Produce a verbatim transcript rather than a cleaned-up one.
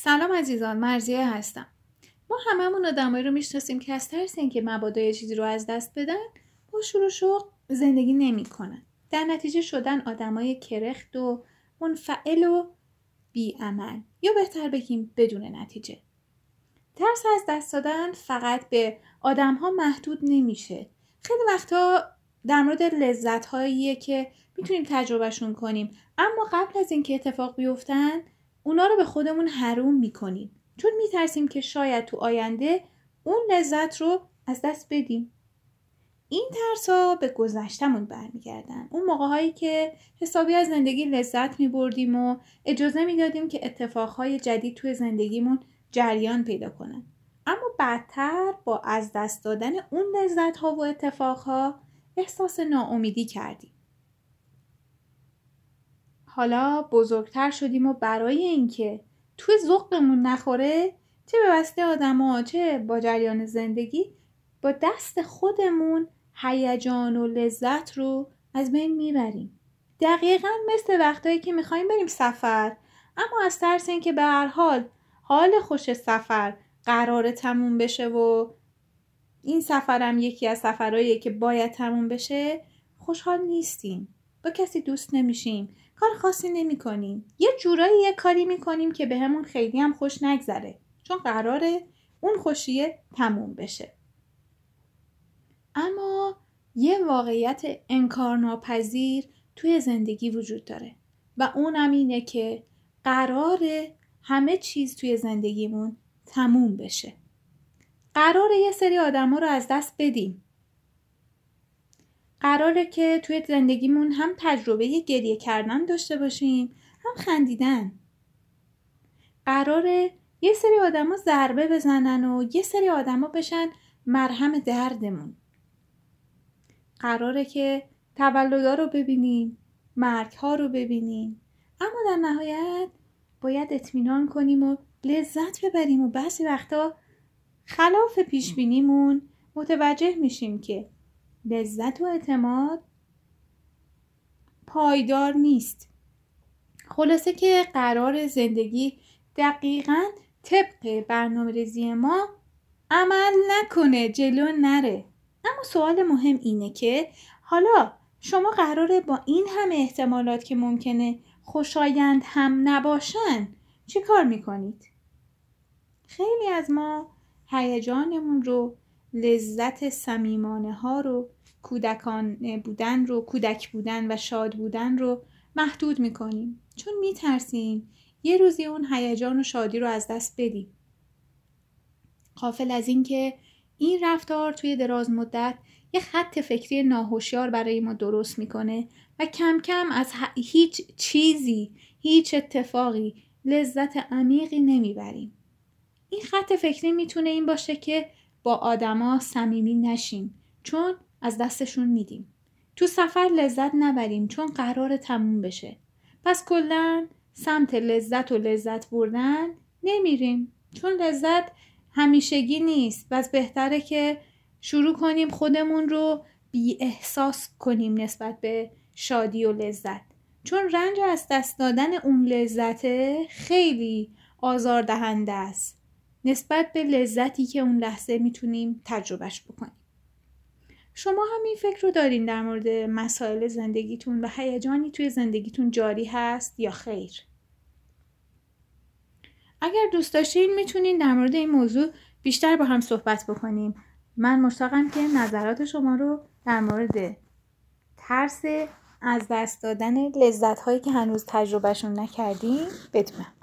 سلام عزیزان، مرضیه هستم. ما هممون آدمایی رو میشناسیم که از ترس اینکه مبادا یه چیزی رو از دست بدن با شور و شوق زندگی نمی‌کنن. در نتیجه شدن آدمای کرخت و منفعل و بی‌عمل، یا بهتر بگیم بدون نتیجه. ترس از دست دادن فقط به آدم‌ها محدود نمیشه. خیلی وقتا در مورد لذت‌هاییه که میتونیم تجربهشون کنیم، اما قبل از اینکه اتفاق بیفتن اونا رو به خودمون حروم میکنیم، چون میترسیم که شاید تو آینده اون لذت رو از دست بدیم. این ترسا به گذشتمون برمیگردن، اون موقع‌هایی که حسابی از زندگی لذت میبردیم و اجازه میدادیم که اتفاقهای جدید توی زندگیمون جریان پیدا کنن. اما بعدتر با از دست دادن اون لذت‌ها و اتفاقها احساس ناامیدی کردیم. حالا بزرگتر شدیم و برای اینکه توی ذوقمون نخوره، چه به واسطه آدما چه با جریان زندگی، با دست خودمون هیجان و لذت رو از بین میبریم. دقیقاً مثل وقتایی که میخوایم بریم سفر، اما از ترس اینکه به هر حال حال خوش سفر قراره تموم بشه و این سفرم یکی از سفرهاییه که باید تموم بشه، خوشحال نیستیم، با کسی دوست نمیشیم، کار خاصی نمی کنیم، یه جورایی یه کاری میکنیم که به همون خیلی هم خوش نگذره، چون قراره اون خوشیه تموم بشه. اما یه واقعیت انکارناپذیر توی زندگی وجود داره و اونم اینه که قراره همه چیز توی زندگیمون تموم بشه. قراره یه سری آدما رو از دست بدیم. قراره که توی زندگیمون هم تجربه گریه کردن داشته باشیم، هم خندیدن. قراره یه سری آدما ضربه بزنن و یه سری آدما بشن مرهم دردمون. قراره که تولدها رو ببینیم، مرگ‌ها رو ببینیم، اما در نهایت باید اطمینان کنیم و لذت ببریم و بعضی وقتا خلاف پیش بینیمون متوجه میشیم که لذت و اعتماد پایدار نیست. خلاصه که قرار زندگی دقیقاً طبق برنامه‌ریزی ما عمل نکنه، جلو نره. اما سوال مهم اینه که حالا شما قراره با این همه احتمالات که ممکنه خوشایند هم نباشن چی کار میکنید؟ خیلی از ما هیجانمون رو، لذت صمیمانه ها رو، کودکانه بودن رو، کودک بودن و شاد بودن رو محدود میکنیم، چون میترسیم یه روزی اون هیجان و شادی رو از دست بدیم. غافل از این که این رفتار توی دراز مدت یه خط فکری ناهوشیار برای ما درست میکنه و کم کم از هیچ چیزی، هیچ اتفاقی لذت عمیقی نمیبریم. این خط فکری میتونه این باشه که با آدما صمیمی نشیم، چون از دستشون میدیم. تو سفر لذت نبریم، چون قرار تموم بشه. پس کلاً سمت لذت و لذت بردن نمیریم، چون لذت همیشگی نیست. پس بهتره که شروع کنیم خودمون رو بی احساس کنیم نسبت به شادی و لذت، چون رنج از دست دادن اون لذت خیلی آزاردهنده است نسبت به لذتی که اون لحظه میتونیم تجربهش بکنیم. شما هم این فکر رو دارین در مورد مسائل زندگیتون و هیجانی توی زندگیتون جاری هست یا خیر؟ اگر دوست داشتین میتونین در مورد این موضوع بیشتر با هم صحبت بکنیم. من مشتاقم که نظرات شما رو در مورد ترس از دست دادن لذت‌هایی که هنوز تجربهشون نکردیم بدونم.